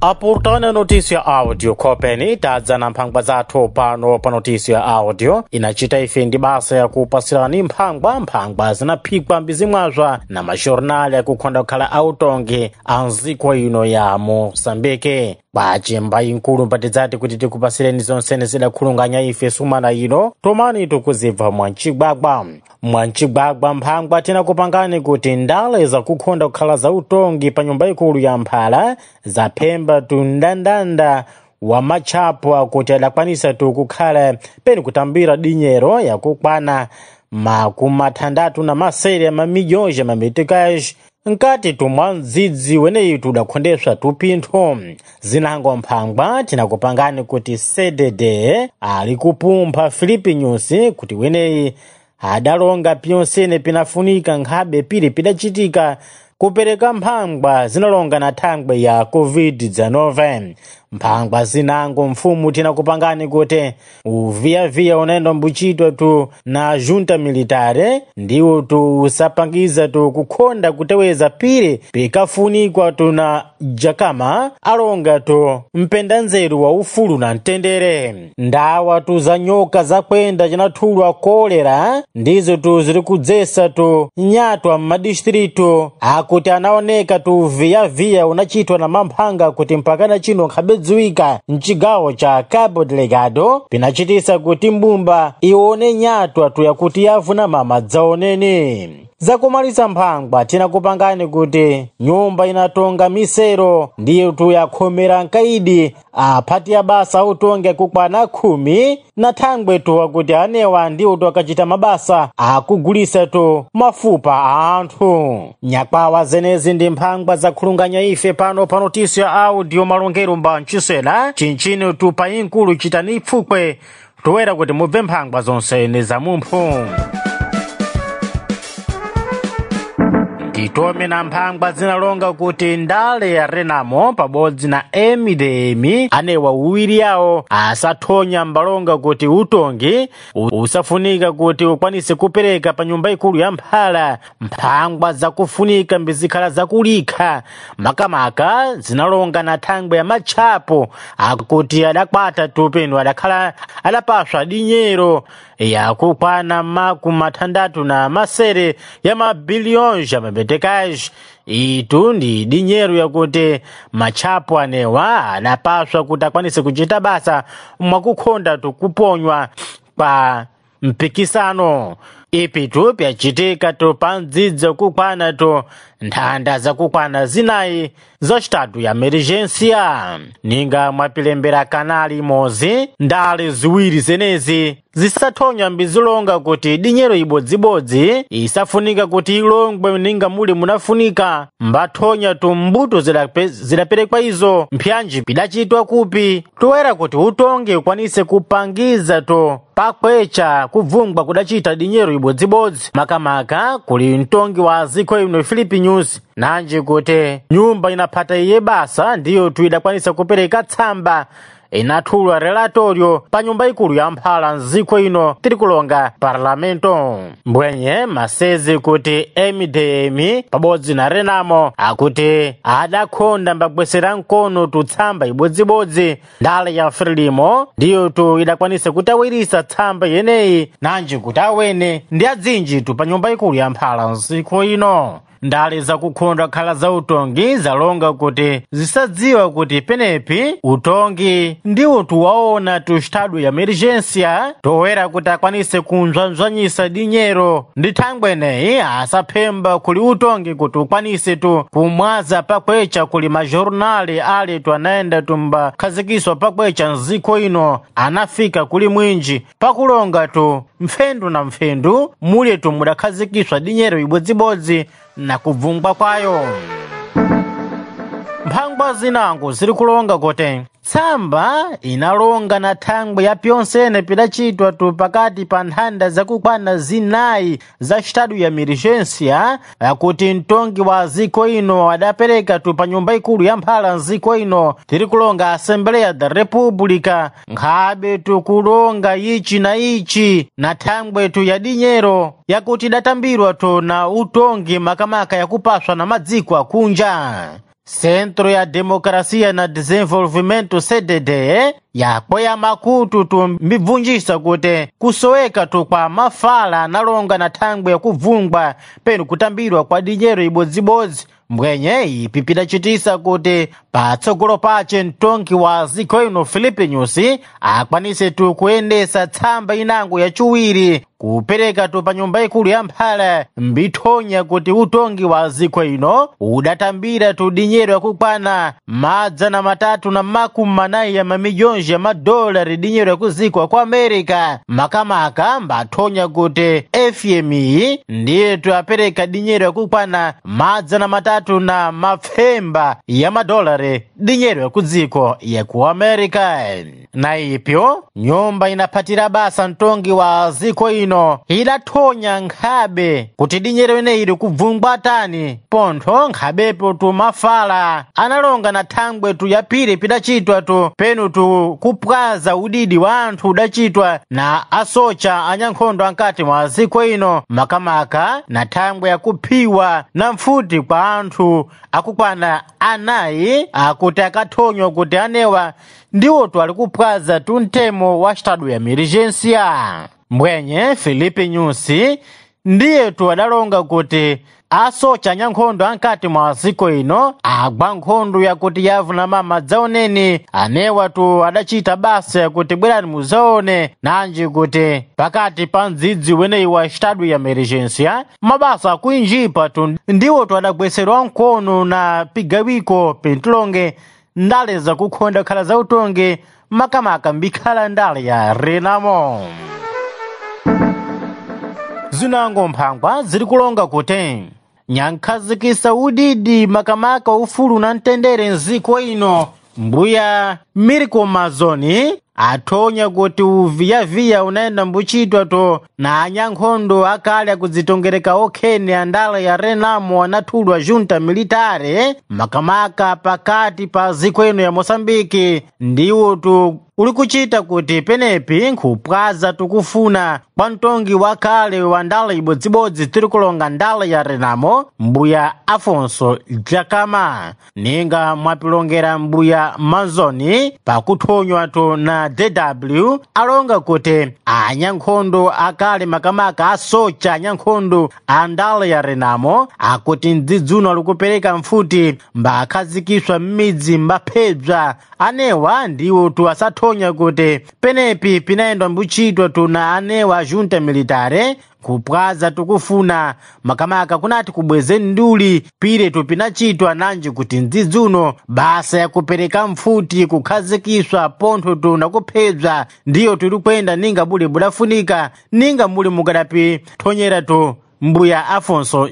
Aportando notícia áudio kopeni tadza na mphangwa zathu pano pa notícia áudio inachita ife ndi basa ya kupasirani mphangwa zinaphikwa mbizimwazwa na majornali yakukhonda kukhala autongi a nziko ino ya Moçambique. Bachimba inkulu mpatidzati kuti tikupasireni zonsene zidakhulunganya ife sumana ino tomani tukuzibva mwancigwagwa mphangwa tinakupangani kuti ndale zakukhonda kukhala za utongi pa nyumba ikulu ya Mphala zaphemba tundandanda wa machapo akuti adakwanisa kukhala peni kutambira dinyero yakukwana makumathandatu na masere mamilhões mameticais nkati tumwa ndzidzi weneyi tudakhondeswa tupintho zinango mphangwa tinakupangani kuti CDD ali kupumpha Filipe Nyusi kuti weneyi adalonga pyonsene pinafunika nkhabe pili pidachitika kupereka mphangwa zinalonga na thangwe ya COVID-19. Mphangwa zinango mfumu tinakupangani kuti uviyaviya unaenda mbuchitwa tu na junta militare ndiwo tu usapangiza tu kukhonda kuteweza pili pikafunikwa tu na jakama alonga tu mpendanzeru wa ufulu na ntendere. Ndawa tu za nyoka za kwenda jinathulwa kolera ndizo tu ziri kudzesa tu nyatwa mmadistritu akuti anaoneka tu viyaviya unachitwa na mamphanga kuti mpakana chino nkhabedziwika mchigawo cha Cabo Delgado pinachitisa kuti mbumba ione nyatwa tu yakuti yavuna mama dzaonene. Zakumaliza mphangwa tinakupangani kuti nyumba inatonga misero ndiyo tu yakhomera nkaidi aphati ya basa utonge kukwana 10 na thangwe tu wakuti anewa ndiyo tu akachita mabasa akugulisa tu mafupa a anthu. Nyakwawa zenezi ndi mphangwa zakhulunganya ife pano pa notícia áudio malongero mba nchisena chinchini tu pa inkulu chitani pfukwe toera kuti mubve mphangwa zonsene za mumphu. Titome na mphangwa zinalonga kuti ndale ya Renamo pabodzi na MDM anewa uwiri yawo asathonya mbalonga kuti utongi usafunika kuti ukwanise kupereka pa nyumba ikulu ya Mphala. Mphangwa zakufunika mbizikhala zakulikha makamaka zinalonga na thangwe ya machapo akuti adakwata tupenu adakhala adapaswa dinyero yakukwana makumathandatu na masere ya mabilihões mameticais. Itu ndi dinyero yakuti machapo anewa adapaswa kuti akwanise kuchita basa mwakukhonda tukuponywa pa mpikisano. Ipi tu pyachitika tu pa ndzidzi kukwana tu nthanda zakukwana zinayi za estado ya emergência. Ninga mwapilembera kanali imodzi ndale ziwiri zenezi zisathonya mbizilonga kuti dinyero ibodzibodzi isafunika kuti ilongwe ninga muli munafunika mbathonya tu mbuto zidaperekwa izo mpyanji pidachitwa kupi toera kuti utonge ukwanise kupangiza tu pakwecha kubvungwa kudachita dinyero ibodzibodzi makamaka kuli mtongi wa ziko ino Filipe Nyusi nanji kuti nyumba inaphata iye basa ndiyo tu idakwanisa kupereka tsamba inathulwa relatorio pa nyumba ikulu ya Mphala nziko ino tirikulonga parlamento. Mbwenye masezi kuti MDM pabodzi na Renamo akuti adakhonda mbagwesera nkono tu tsamba ibodzibodzi ndale ya Frelimo ndiyo tu idakwanisa kutawirisa tsamba yeneyi nanji kuti awene ndi adzinji tu pa nyumba ikulu ya Mphala nziko ino. Ndale zakukhonda khala za utongi zalonga kuti zisadziwa kuti penepi utongi ndiwo tuwaona tu estado ya emergência toera kuti akwanise kunzwanzwanyisa dinyero ndi thangweneyi asaphemba kuli utongi kuti ukwanise tu kumwaza pakwecha kuli majornali ali tu anaenda tumba khazikiswa pakwecha nziko ino anafika kuli mwinji pakulonga tu mfendu na mfendu muli tu mudakhazikiswa dinyero ibodzibodzi na kubvungwa kwayo. Mphangwa zinango ziri kulonga kuti tsamba inalonga na thangwe ya pyonsene pidachitwa tu pakati pa nthanda zakukwana zinayi za estado ya emergência yakuti mtongi wa ziko ino adapereka tu pa nyumba ikulu ya Mphala nziko ino tirikulonga Assembleia da República nkhabe tu kulonga ichi na ichi na thangwe tu ya dinyero yakuti datambirwa tu na utongi makamaka yakupaswa na madziko akunja. Centro ya Democracia na Desenvolvimento CDD yakwea makutu tumbibvunjisa kuti kusoweka tu kwa mafala analonga na thangwe ya kuvungwa penu kutambirwa kwa dinyero ibodzibodzi mbwenye ipi pidacitisa kuti patsogolo pace mtongi wa ziko ino Filipe Nyusi akwanise tu kuyendesa tsamba inango yaciwiri kupereka tu pa nyumba ikulu ya Mphala mbithonya kuti utongi wa ziko ino udatambira tu dinyero yakukwana $340 ya mamilhões ya madolari dinyero yakuzikwa kwa America makamaka mbathonya kuti FMI ndiye tu apereka dinyero yakukwana $300 ya madolari dinyero yakuziko ya ku America. Na ipyo nyumba inapatira basa mtongi wa ziko ino idathonya nkhabe kuti dinyero ineyi kubvungwa tani pontho nkhabepo tu mafala analonga na thangwe tu yapire pidacitwa tu penu tu kupwaza udidi wa anthu udacitwa na asocha anyankhondo ankati mwa ziko ino makamaka na thangwe yakuphiwa na mfuti kwa anthu akukwana anayi akuti akathonywa kuti anewa ndiwo tu ali kupwaza tu mtemo wa estado ya emergência. Mbwenye Filipe Nyusi ndiye tu adalonga kuti asocha anyankhondo ankati mwa ziko ino agwa nkhondo yakuti yavuna mama dzaoneni anewa tu adacita basa yakuti bwerani muzaone nanji kuti pakati pa mdzidzi weneyi wa estado ya emergência mabasa akuinjipa tu ndiwo tu adagweserwa mkono na pigawiko pintilonge ndale za kukhonda khala za utongi makamaka mbikhala ndale ya Renamo. Zinango mphangwa ziri kulonga kuti nyankhazikisa udidi makamaka ufulu na mtendere nziko ino mbuya Mirko Mazoni athonya kuti uviyaviya unaenda mbuchitwa to na anyankhondo akale akudzitongereka okheni andale ya Renamo anathulwa junta militare makamaka pakati pa ziko ino ya Moçambique ndiwo tu uli kuchita kuti penepi nkhupwaza tukufuna kwa mtongi wakale wa ndale ibodzibodzi tiri kulonga ndale ya Renamo mbuya Afonso Dhlakama ninga mwapilongera mbuya Mazoni pakuthonywa to na DW alonga kuti anyankhondo akale makamaka asocha anyankhondo andale ya Renamo akuti mdzidzuno alikupereka mfuti mbakhazikiswa m'midzi mbaphedzwa anewa ndiwo tu asathonya kuti penepi pinaendwa mbuchitwa tu na anewa junta militare kupwaza tukufuna makamaka kunati kubwezeni nduli pire tu pinachitwa nanji kuti mdzidzuno basa ya kupereka mfuti kukhazikiswa pontho tu na kuphedzwa ndiyo tuli kwenda ninga buli budafunika ninga muli mukadapi thonyera tu mbuya Afonso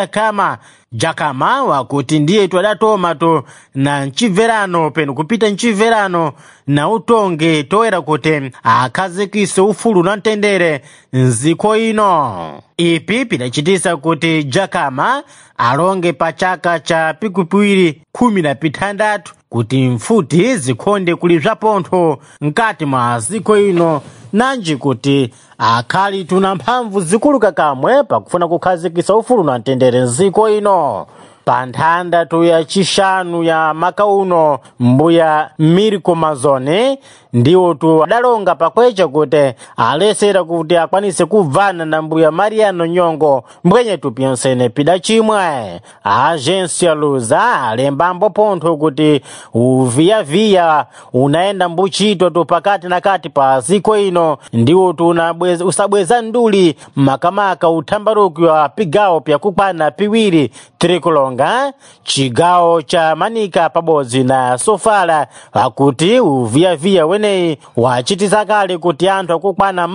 Dhlakama wakuti ndiye tu adatoma tu na mchibverano penu kupita mchibverano na utonge toera kuti akhazikise ufulu na mtendere nziko ino. Ipi pidacitisa kuti Dhlakama alonge pa chaka cha pikupwiri 16 kuti mfuti zikhonde kulipsa pontho mkati mwa ziko ino nanji kuti akhali tuna mphamvu zikulu kakamwe pakufuna kukhazikisa ufulu na mtendere nziko ino. Pa nthanda tu ya chishanu ya makauno mbuya Mirko Mazoni ndiwo tu adalonga pakwecha kuti alesera kuti akwanise kubvana na mbuya Mariano Nyongo mbwenye tu pyonsene pidachimwe. Agência Lusa alembambo pontho kuti uviyaviya unaenda mbuchitwa tu pakati na kati pa ziko ino ndiwo tu usabweza nduli makamaka uthambaruki wa pigawo pyakukwana piwiri tiri kulonga chigawo cha Manika pabodzi na Sofala akuti uviyaviya weneyi wachitisa kale kuti anthu akukwana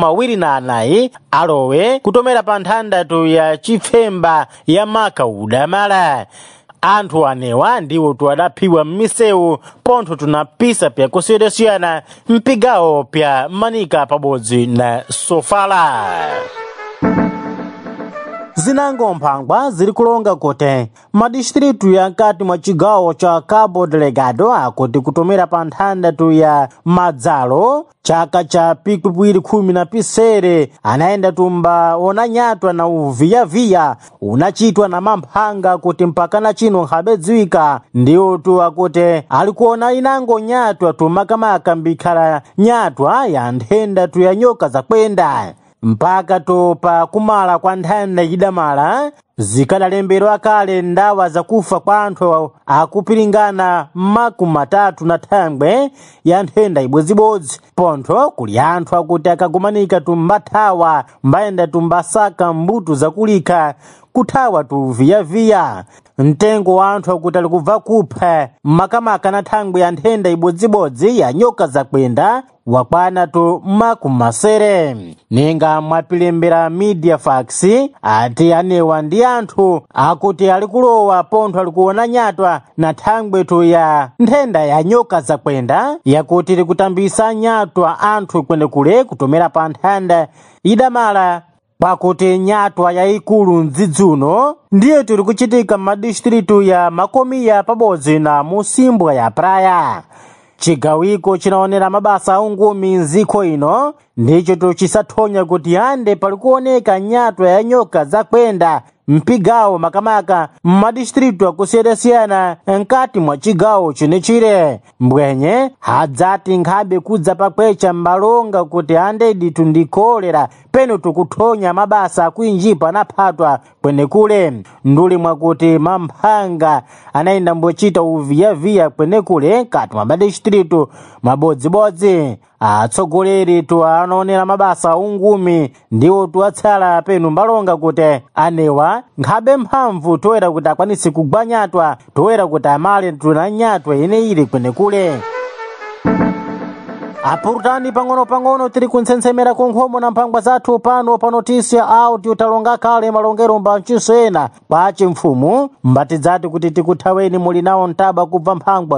24 alowe kutomera pa nthanda tu ya chifemba ya maka udamala. Anthu anewa ndiwo tu adaphiwa m'misewu pontho tunapisa pyakusiyana mpigawo pya Manika pabodzi na Sofala. zinango mphangwa ziri kulonga kuti madistritu ya nkati mwa chigawo cha Cabo Delgado akuti kutomera pa nthandatu ya Madzalo chaka cha pikupwiri 10 anaenda tumba onanyatwa na uviyaviya unachitwa na mamphanga kuti mpakana chino nkhabedziwika ndiwo tu akuti alikuona inango nyatwa tumakamaka mbikhala nyatwa ya nthenda tu ya nyoka zakwenda mpaka topa kumala kwa nthanda idamala zikadalemberwa kale ndawa zakufa kwa anthu akupiringana makumatatu na thangwe ya nthenda ibwezibodzi pontho kuli anthu akuti akagumanika tumbathawa mbayenda tumbasaka mbuto zakulika kuthawa tuviyaviya mtengo wa anthu akuti ali kubva kupha makamaka na thangwe ya nthenda ibwezibodzi ya nyoka zakwenda wakwana tu makumasere ninga mwapilembera media fax ati anewa ndi anthu akuti ali kulowa pontho ali kuona nyatwa na thangwe tu ya nthenda ya nyoka zakwenda yakuti likutambisa nyatwa anthu kwenekule kutomera pa nthanda idamala pakuti nyatwa yayikulu mdzidzuno ndiye tuli kuchitika madistritu ya Makomiya pabodzi na Musimbwa ya Praia. Chigawiko chinaonera mabasa aungumi nziko ino ndicho tuchisathonya kuti ande pali kuoneka nyatwa ya nyoka zakwenda mpigawo makamaka mmadistritu akusiyana nkati mwa chigawo chinechire mbwenye hadzati nkhabe kudza pakwecha mbalonga kuti ande ditu ndikolera peno tukuthonya mabasa akuinjipa naphatwa kwenekule nduli mwakuti mamphanga anaenda mbochita uviyaviya kwenekule kati mwa madistritu mabodzibodzi atsogoleri tu anaonera mabasa ungumi ndiwo tuwatsala penu mbalonga kuti anewa nkhabe mphamvu toera kuti akwanisi kugwanyatwa toera kuti amale tunanyatwa ine ili kwenekule apurutani pang'ono tiri kunsentsemera kunkhomo na mphangwa zathu pano pa Notícia Áudio talonga kale malongero mbachisena kwache mfumu mbatidzati kuti tikuthaweni muli nawo ntaba kubva mphangwa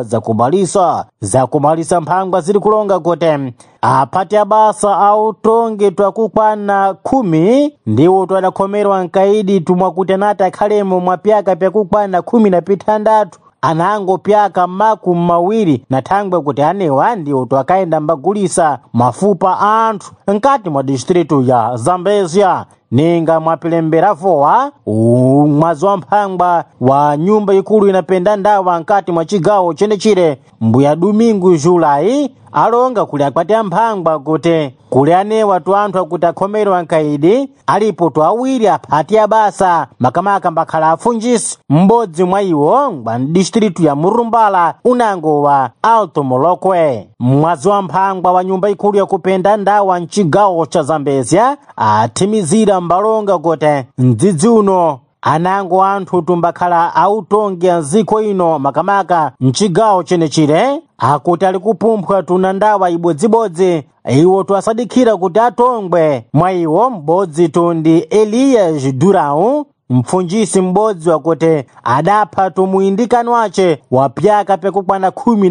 zakumalisa mphangwa ziri kulonga kuti aphati abasa autongi twakukwana 10 ndiwo twadakhomerwa nkaidi tumwakuti anati akhalemo mwapyaka pyakukwana 16 anango pyaka makumi na thangwe kuti anewa ndiwo twakaenda mbagulisa mafupa anthu nkati mwa distritu ya Zambezia ninga mwapilembera vowa mwazi wa mphangwa wa nyumba ikulu inapenda ndawa nkati mwa chigawo chenechire mbuya Domingo Julai alonga kuli akwati amphangwa kuti kuli anewa tu anthu akuti akhomerwa nkaidi alipo tu awiri aphati abasa makamaka mbakhala afunjisi m'bodzi mwa iwo ngwa distritu ya Murumbala unango wa Alto Molokwe mwazi wa mphangwa wa nyumba ikulu yakupenda ndawa mchigawo cha Zambezia athimizira mbalonga kuti mdzidzi uno anango anthu tumbakhala autongi nziko ino makamaka mchigawo chenechire akuti ali kupumphwa tuna ndawa ibodzibodzi iwo twasadikhira kuti atongwe mwa iwo m'bodzi tundi Elias Durão mpfunjisi m'bodzi wakuti adapha tumuyindikano wace wa pyaka pyakukwana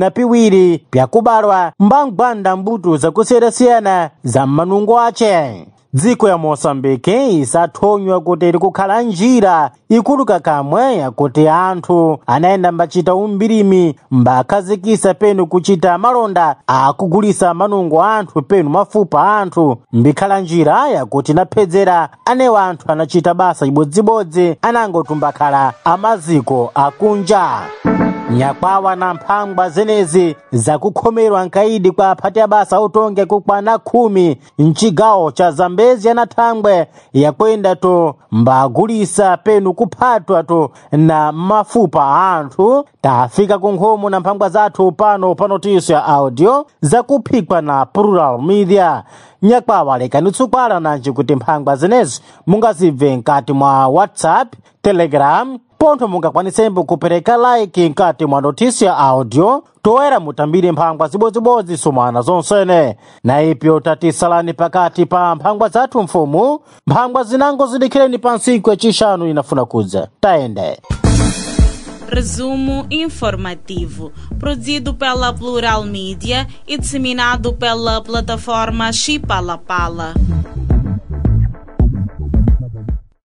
12 pyakubalwa mbangwanda mbuto zakusiyana za manungo ace dziko ya Moçambique isathonywa kuti likukhala njira ikuluka kamwe yakuti anthu anaenda mbachita umbirimi mbakhazikisa penu kuchita malonda akugulisa manungo anthu penu mafupa anthu mbikhala njira yakuti naphedzera anewa anthu anachita basa ibodzibodzi anangotumbakhala amaziko akunja nyakwawa na mphangwa zenezi zakukhomerwa nkaidi kwa aphati abasa autongi kukwana 10 mchigawo cha Zambezia na thangwe yakwenda to mbagulisa penu kuphatwa to na mafupa anthu tafika kunkhomo na mphangwa zathu pano pa Notícia Áudio zakuphikwa na Plural Media nyakwawa lekani tsukwana nanji kuti mphangwa zenezi mungazibve nkati mwa WhatsApp, Telegram pontho mungakwanisembo kupereka like nkati mwa Notícia Áudio toera mutambire mphangwa zibodzibodzi sumana zonsene na ipyo tatisalani pakati pa mphangwa zathu mfumu mphangwa zinango zidikhireni pa nsiku yacishanu inafuna kudza taende. Resumo informativo, produzido pela Plural Mídia e disseminado pela plataforma Chipalapala.